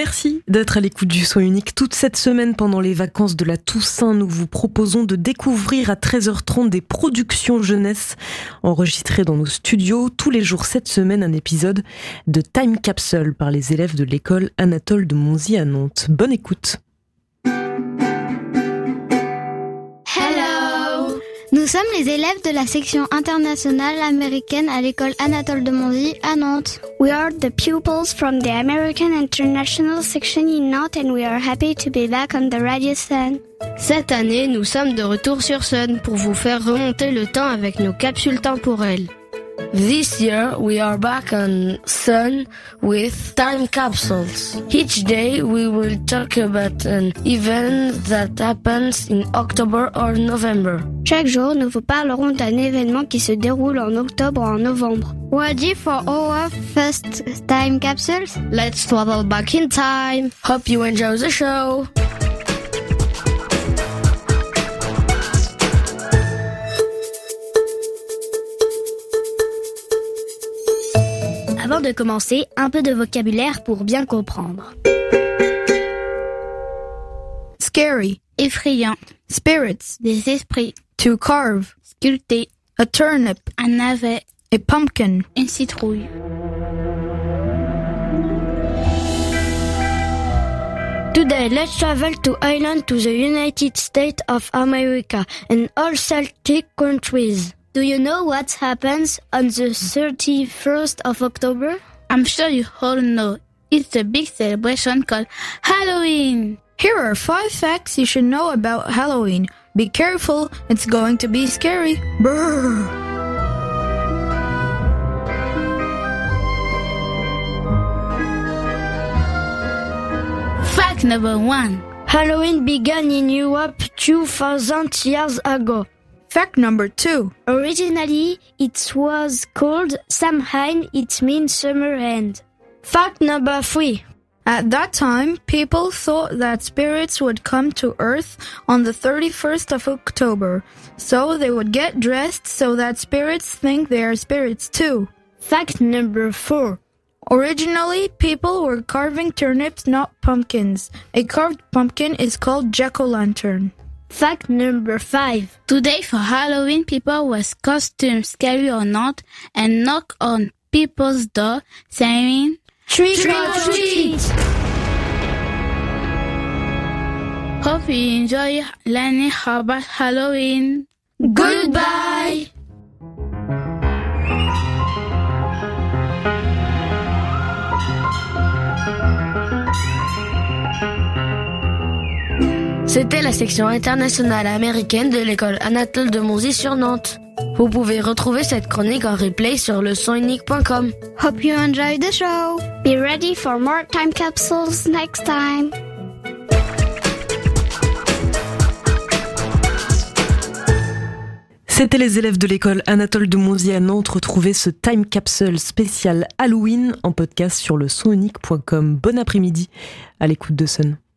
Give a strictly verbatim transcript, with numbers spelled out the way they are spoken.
Merci d'être à l'écoute du Son Unique. Toute cette semaine, pendant les vacances de la Toussaint, nous vous proposons de découvrir à treize heures trente des productions jeunesse enregistrées dans nos studios. Tous les jours cette semaine, un épisode de Time Capsule par les élèves de l'école Anatole de Monzie à Nantes. Bonne écoute. Nous sommes les élèves de la section internationale américaine à l'école Anatole de Monzie à Nantes. We are the pupils from the American International section in Nantes and we are happy to be back on the radio Sun. Cette année, nous sommes de retour sur Sun pour vous faire remonter le temps avec nos capsules temporelles. This year, we are back on Sun with time capsules. Each day, we will talk about an event that happens in October or November. Chaque jour, nous vous parlerons d'un événement qui se déroule en octobre ou en novembre. Ready for our first time capsules? Let's travel back in time. Hope you enjoy the show. Avant de commencer, un peu de vocabulaire pour bien comprendre. Scary, effrayant. Spirits, Des esprits. to carve, Sculpté. a turnip, Un navet. a pumpkin. Une citrouille. Today, let's travel to Ireland, to the United States of America and all Celtic countries. Do you know what happens on the thirty-first of October? I'm sure you all know. It's a big celebration called Halloween. Here are five facts you should know about Halloween. Be careful, it's going to be scary. Brrr. Fact number one. Halloween began in Europe two thousand years ago. Fact number two. Originally, it was called Samhain, it means summer end. Fact number three. At that time, people thought that spirits would come to Earth on the thirty-first of October, so they would get dressed so that spirits think they are spirits too. Fact number four. Originally, people were carving turnips, not pumpkins. A carved pumpkin is called jack-o'-lantern. Fact number five. Today for Halloween, people wear costumes, scary or not, and knock on people's door saying, Trick or treat! Hope you enjoy learning about Halloween. Goodbye! C'était la section internationale américaine de l'école Anatole de Monzie sur Nantes. Vous pouvez retrouver cette chronique en replay sur le son unique point com. Hope you enjoy the show. Be ready for more time capsules next time. C'était les élèves de l'école Anatole de Monzie à Nantes. Retrouvez ce Time Capsule spécial Halloween en podcast sur le son unique point com. Bon après-midi à l'écoute de Sun.